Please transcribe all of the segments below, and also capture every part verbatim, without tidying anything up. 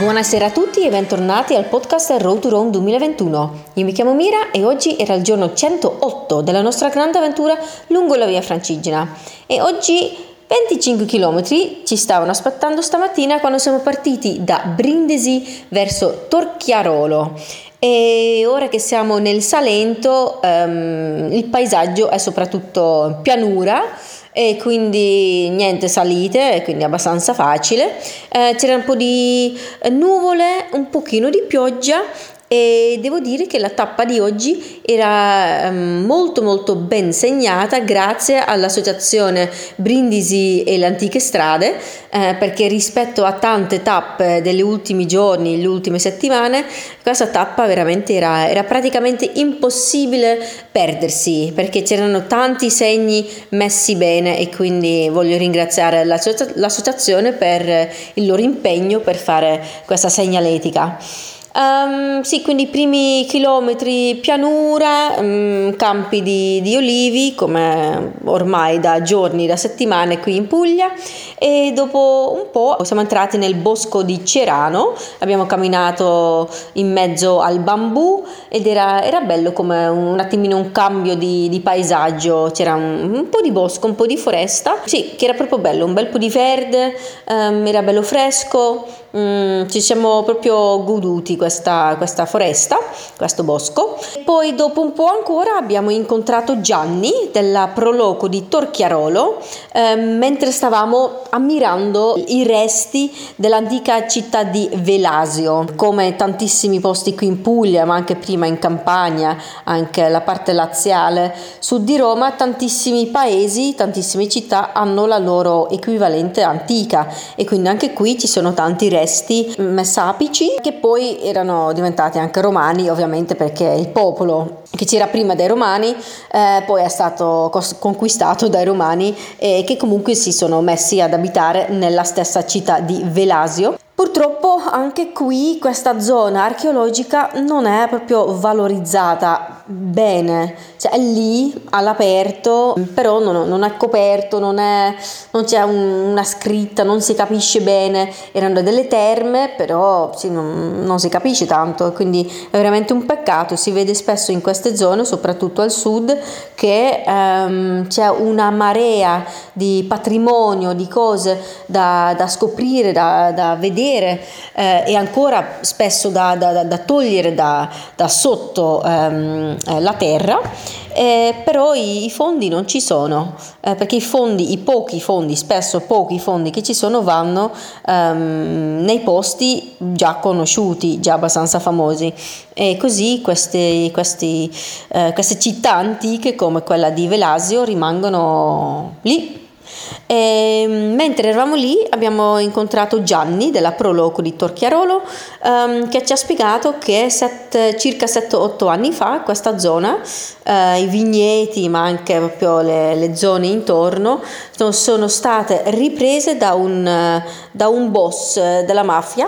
Buonasera a tutti e bentornati al podcast Road to Rome duemilaventuno. Io mi chiamo Mira e oggi era il giorno centootto della nostra grande avventura lungo la via Francigena e oggi venticinque chilometri ci stavano aspettando stamattina quando siamo partiti da Brindisi verso Torchiarolo. E ora che siamo nel Salento um, il paesaggio è soprattutto pianura e quindi niente salite, quindi abbastanza facile. Eh, c'era un po' di nuvole, un pochino di pioggia e devo dire che la tappa di oggi era um, molto molto ben segnata grazie all'associazione Brindisi e le Antiche Strade, eh, perché rispetto a tante tappe degli ultimi giorni, le ultime settimane, questa tappa veramente era, era praticamente impossibile perdersi, perché c'erano tanti segni messi bene e quindi voglio ringraziare l'associa- l'associazione per il loro impegno per fare questa segnaletica. Um, sì, quindi i primi chilometri pianura, um, campi di, di olivi come ormai da giorni, da settimane qui in Puglia, e dopo un po' siamo entrati nel bosco di Cerano, abbiamo camminato in mezzo al bambù ed era, era bello come un attimino un cambio di, di paesaggio, c'era un, un po' di bosco, un po' di foresta, sì, che era proprio bello, un bel po' di verde, um, era bello fresco. Mm, ci siamo proprio goduti questa, questa foresta, questo bosco. Poi dopo un po' ancora abbiamo incontrato Gianni della Proloco di Torchiarolo eh, mentre stavamo ammirando i resti dell'antica città di Velasio. Come tantissimi posti qui in Puglia, ma anche prima in Campania, anche la parte laziale, sud di Roma, tantissimi paesi, tantissime città hanno la loro equivalente antica e quindi anche qui ci sono tanti resti resti messapici che poi erano diventati anche romani, ovviamente perché il popolo che c'era prima dei romani eh, poi è stato cos- conquistato dai romani e che comunque si sono messi ad abitare nella stessa città di Velasio. Purtroppo anche qui questa zona archeologica non è proprio valorizzata bene, cioè è lì all'aperto, però non, non è coperto, non, è, non c'è un, una scritta, non si capisce bene, erano delle terme, però sì, non, non si capisce tanto, quindi è veramente un peccato. Si vede spesso in queste zone, soprattutto al sud, che ehm, c'è una marea di patrimonio, di cose da, da scoprire, da, da vedere. Eh, e ancora spesso da, da, da togliere da, da sotto ehm, eh, la terra, eh, però i, i fondi non ci sono, eh, perché i fondi, i pochi fondi, spesso pochi fondi che ci sono vanno ehm, nei posti già conosciuti, già abbastanza famosi, e così queste, questi, eh, queste città antiche come quella di Velasio rimangono lì. E, mentre eravamo lì abbiamo incontrato Gianni della Proloco di Torchiarolo um, che ci ha spiegato che set, circa sette otto anni fa questa zona, uh, i vigneti ma anche proprio le, le zone intorno sono state riprese da un, da un boss della mafia.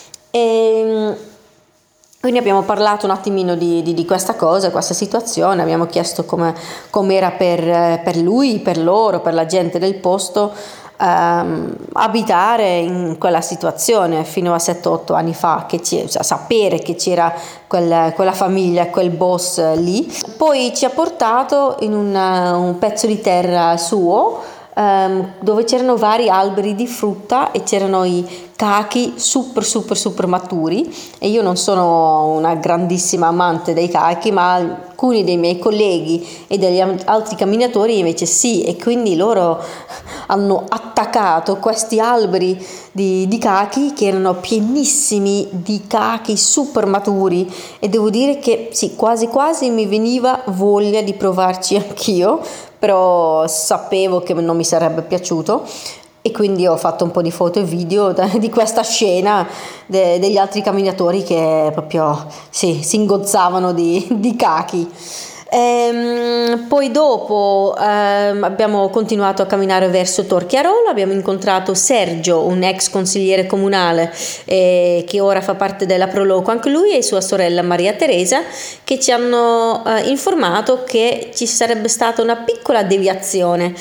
E, quindi abbiamo parlato un attimino di, di, di questa cosa, questa situazione, abbiamo chiesto come era per, per lui, per loro, per la gente del posto ehm, abitare in quella situazione fino a sette otto anni fa, che ci, cioè, sapere che c'era quel, quella famiglia, quel boss lì. Poi ci ha portato in una, un pezzo di terra suo, Um, dove c'erano vari alberi di frutta e c'erano i cachi super super super maturi, e io non sono una grandissima amante dei cachi, ma alcuni dei miei colleghi e degli altri camminatori invece sì, e quindi loro hanno attaccato questi alberi di, di cachi che erano pienissimi di cachi super maturi, e devo dire che sì, quasi quasi mi veniva voglia di provarci anch'io, però sapevo che non mi sarebbe piaciuto e quindi ho fatto un po' di foto e video di questa scena de, degli altri camminatori che proprio sì, si ingozzavano di, di cachi. Ehm, poi dopo ehm, abbiamo continuato a camminare verso Torchiarolo, abbiamo incontrato Sergio, un ex consigliere comunale eh, che ora fa parte della Proloco, anche lui e sua sorella Maria Teresa, che ci hanno eh, informato che ci sarebbe stata una piccola deviazione.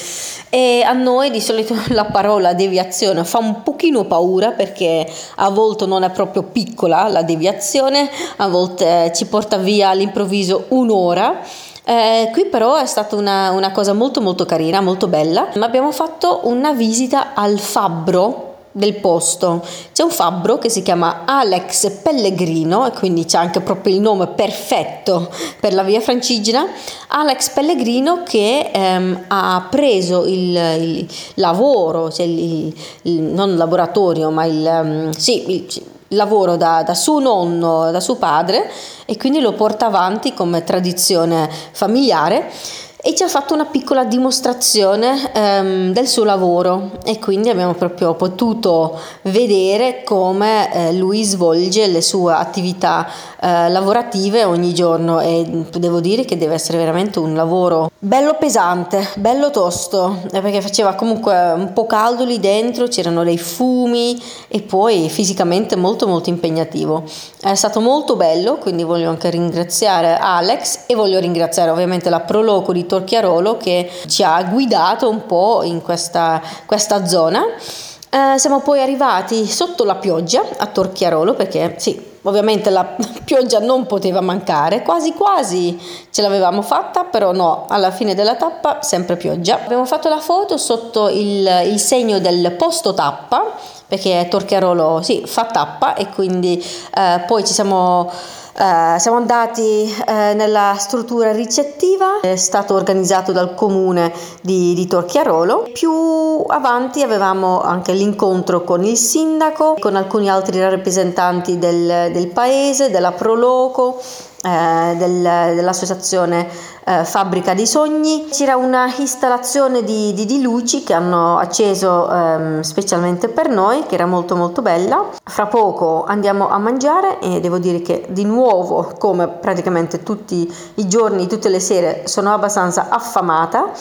E a noi di solito la parola deviazione fa un pochino paura, perché a volte non è proprio piccola la deviazione, a volte ci porta via all'improvviso un'ora. Eh, qui però è stata una, una cosa molto molto carina, molto bella. Abbiamo fatto una visita al fabbro del posto. C'è un fabbro che si chiama Alex Pellegrino, e quindi c'è anche proprio il nome perfetto per la via Francigena. Alex Pellegrino, che ehm, ha preso il, il lavoro, cioè il, il, non il laboratorio, ma il, um, sì, il, il lavoro da, da suo nonno, da suo padre, e quindi lo porta avanti come tradizione familiare. E ci ha fatto una piccola dimostrazione ehm, del suo lavoro, e quindi abbiamo proprio potuto vedere come eh, lui svolge le sue attività eh, lavorative ogni giorno, e devo dire che deve essere veramente un lavoro bello pesante, bello tosto, eh, perché faceva comunque un po' caldo lì dentro, c'erano dei fumi, e poi fisicamente molto molto impegnativo. È stato molto bello, quindi voglio anche ringraziare Alex, e voglio ringraziare ovviamente la Proloco di Torchiarolo, che ci ha guidato un po' in questa, questa zona. Eh, siamo poi arrivati sotto la pioggia a Torchiarolo, perché sì, ovviamente la pioggia non poteva mancare, quasi quasi ce l'avevamo fatta, però no, alla fine della tappa sempre pioggia. Abbiamo fatto la foto sotto il, il segno del posto tappa, perché Torchiarolo sì, fa tappa, e quindi eh, poi ci siamo Uh, siamo andati uh, nella struttura ricettiva, è stato organizzato dal comune di, di Torchiarolo. Più avanti avevamo anche l'incontro con il sindaco, con alcuni altri rappresentanti del, del paese, della Proloco, eh, del, dell'associazione eh, Fabbrica dei Sogni. C'era una installazione di, di, di luci che hanno acceso ehm, specialmente per noi, che era molto molto bella. Fra poco andiamo a mangiare, e devo dire che di nuovo, come praticamente tutti i giorni, tutte le sere, sono abbastanza affamata,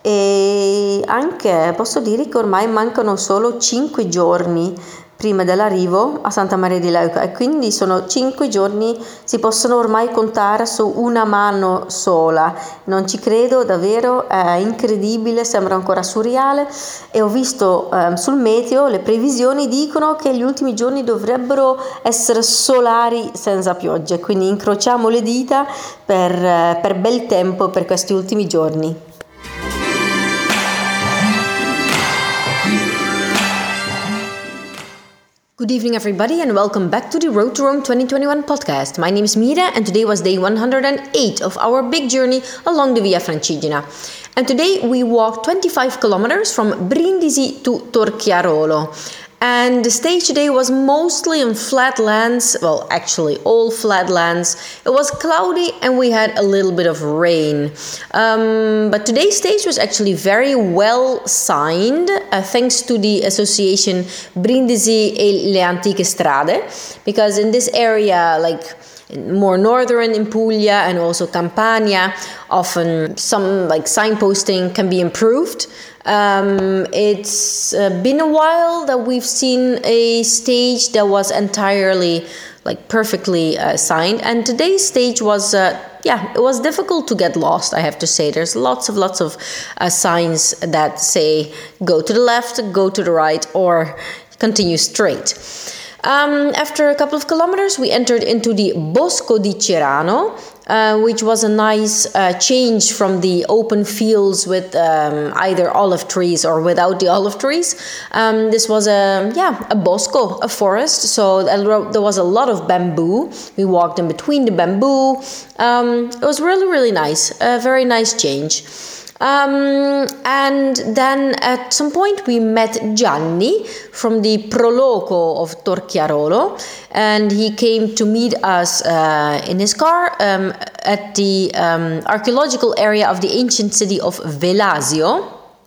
e anche posso dire che ormai mancano solo cinque giorni prima dell'arrivo a Santa Maria di Leuca, e quindi sono cinque giorni, si possono ormai contare su una mano sola. Non ci credo davvero, è incredibile, sembra ancora surreale. E ho visto eh, sul meteo le previsioni dicono che gli ultimi giorni dovrebbero essere solari senza piogge, quindi incrociamo le dita per, eh, per bel tempo per questi ultimi giorni. Good evening, everybody, and welcome back to the Road to Rome twenty twenty-one podcast. My name is Mira, and today was day one hundred eight of our big journey along the Via Francigena. And today we walked twenty-five kilometers from Brindisi to Torchiarolo. And the stage today was mostly on flat lands, well, actually all flat lands. It was cloudy and we had a little bit of rain. Um, but today's stage was actually very well signed, uh, thanks to the association Brindisi e le Antiche Strade, because in this area, like more northern in Puglia and also Campania, often some like signposting can be improved. Um, it's uh, been a while that we've seen a stage that was entirely like perfectly uh, signed, and today's stage was uh, yeah it was difficult to get lost, I have to say. There's lots of lots of uh, signs that say go to the left, go to the right, or continue straight. Um, after a couple of kilometers, we entered into the Bosco di Cerano, uh, which was a nice uh, change from the open fields with um, either olive trees or without the olive trees. Um, this was a yeah a bosco, a forest, so there was a lot of bamboo. We walked in between the bamboo. Um, it was really really nice, a very nice change. Um, and then at some point we met Gianni from the Proloco of Torchiarolo, and he came to meet us uh, in his car um, at the um, archaeological area of the ancient city of Velasio.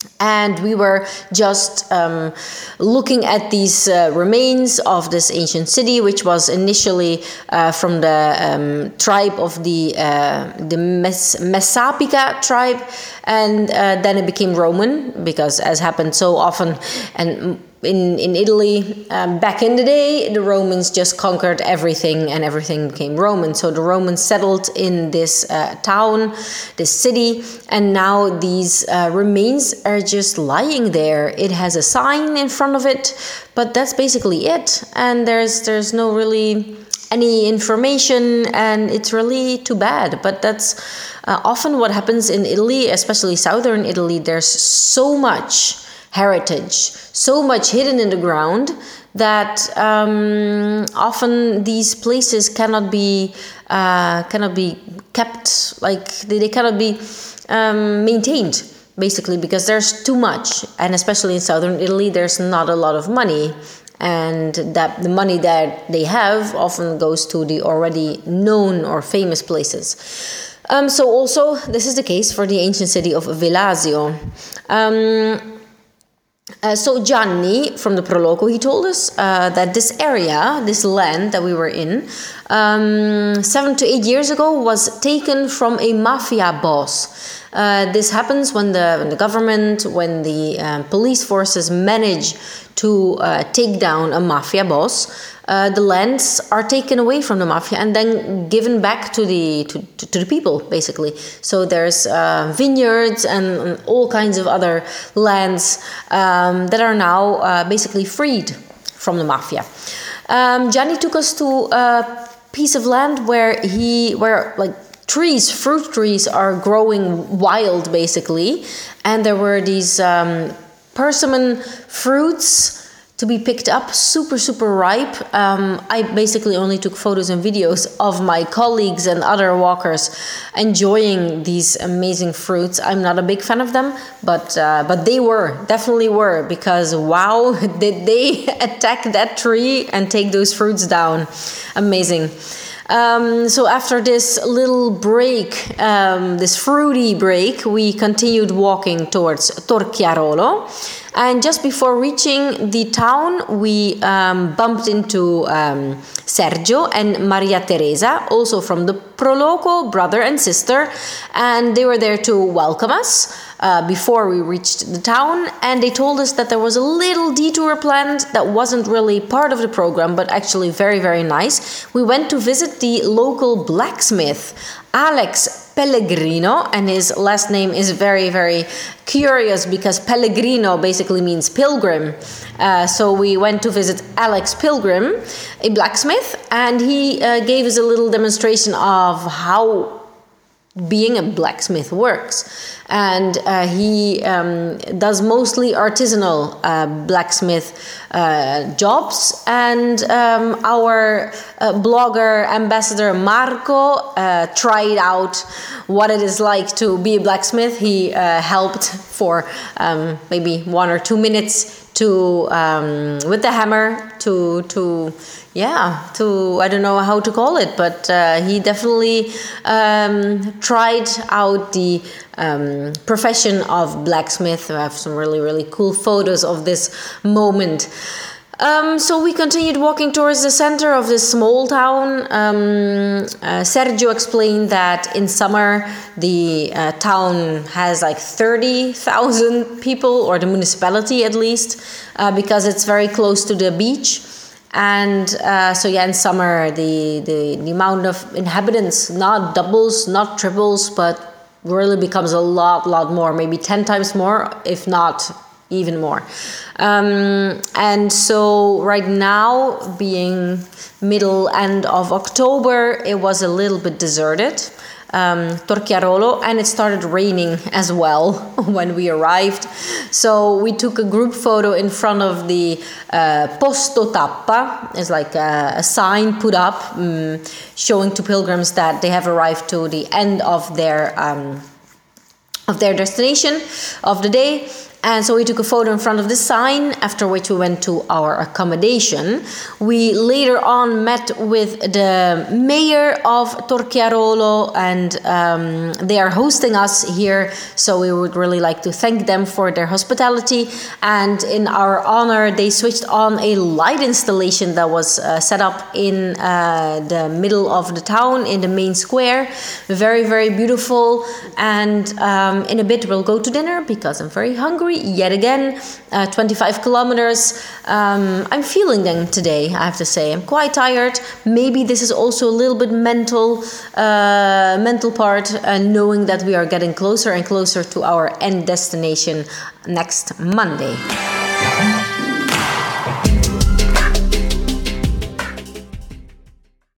And we were just um, looking at these uh, remains of this ancient city, which was initially uh, from the um, tribe of the uh, the Mes- Messapica tribe, and uh, then it became Roman, because as happened so often, and in in Italy um, back in the day, the Romans just conquered everything, and everything became Roman. So the Romans settled in this uh, town, this city, and now these uh, remains are just lying there. It has a sign in front of it, but that's basically it. And there's there's no really any information, and it's really too bad. But that's uh, often what happens in Italy, especially southern Italy. There's so much heritage, so much hidden in the ground, that um, often these places cannot be uh, cannot be kept, like they, they cannot be um, maintained, basically, because there's too much. And especially in southern Italy, there's not a lot of money, and that the money that they have often goes to the already known or famous places. Um, so also this is the case for the ancient city of Velasio. Um, Uh, so Gianni from the Proloco, he told us uh, that this area, this land that we were in, um, seven to eight years ago was taken from a mafia boss. Uh, this happens when the, when the government, when the um, police forces manage to uh, take down a mafia boss. Uh, the lands are taken away from the mafia and then given back to the to, to, to the people, basically. So there's uh, vineyards and, and all kinds of other lands um, that are now uh, basically freed from the mafia. Um, Gianni took us to a piece of land where he where like trees, fruit trees, are growing wild, basically, and there were these um, persimmon fruits to be picked up, super, super ripe. Um, I basically only took photos and videos of my colleagues and other walkers enjoying these amazing fruits. I'm not a big fan of them, but uh, but they were, definitely were, because wow, did they attack that tree and take those fruits down. Amazing. Um, so after this little break, um, this fruity break, we continued walking towards Torchiarolo. And just before reaching the town, we um, bumped into um, Sergio and Maria Teresa, also from the Proloco, brother and sister, and they were there to welcome us uh, before we reached the town. And they told us that there was a little detour planned that wasn't really part of the program, but actually very, very nice. We went to visit the local blacksmith, Alex Pellegrino, and his last name is very, very curious because Pellegrino basically means pilgrim. Uh, so we went to visit Alex Pilgrim, a blacksmith, and he uh, gave us a little demonstration of how being a blacksmith works. And uh, he um, does mostly artisanal uh, blacksmith uh, jobs. And um, our uh, blogger ambassador Marco uh, tried out what it is like to be a blacksmith. He uh, helped for um, maybe one or two minutes to um, with the hammer to to yeah to I don't know how to call it, but uh, he definitely um, tried out the um, profession of blacksmith. I have some really really cool photos of this moment. Um, so we continued walking towards the center of this small town. Um, uh, Sergio explained that in summer the uh, town has like thirty thousand people, or the municipality at least, uh, because it's very close to the beach. And uh, so yeah, in summer the, the, the amount of inhabitants not doubles, not triples, but really becomes a lot, lot more, maybe ten times more, if not even more. Um, and so right now, being middle end of October, it was a little bit deserted, um, Torchiarolo, and it started raining as well when we arrived. So we took a group photo in front of the uh, Posto Tappa. It's like a, a sign put up um, showing to pilgrims that they have arrived to the end of their um, of their destination of the day. And so we took a photo in front of the sign, after which we went to our accommodation. We later on met with the mayor of Torchiarolo, and um, they are hosting us here, so we would really like to thank them for their hospitality. And in our honor, they switched on a light installation that was uh, set up in uh, the middle of the town, in the main square. Very, very beautiful. And um, in a bit we'll go to dinner because I'm very hungry yet again. uh, twenty-five kilometers. um, I'm feeling them today, I have to say. I'm quite tired. Maybe this is also a little bit mental uh, mental part, uh, knowing that we are getting closer and closer to our end destination next Monday.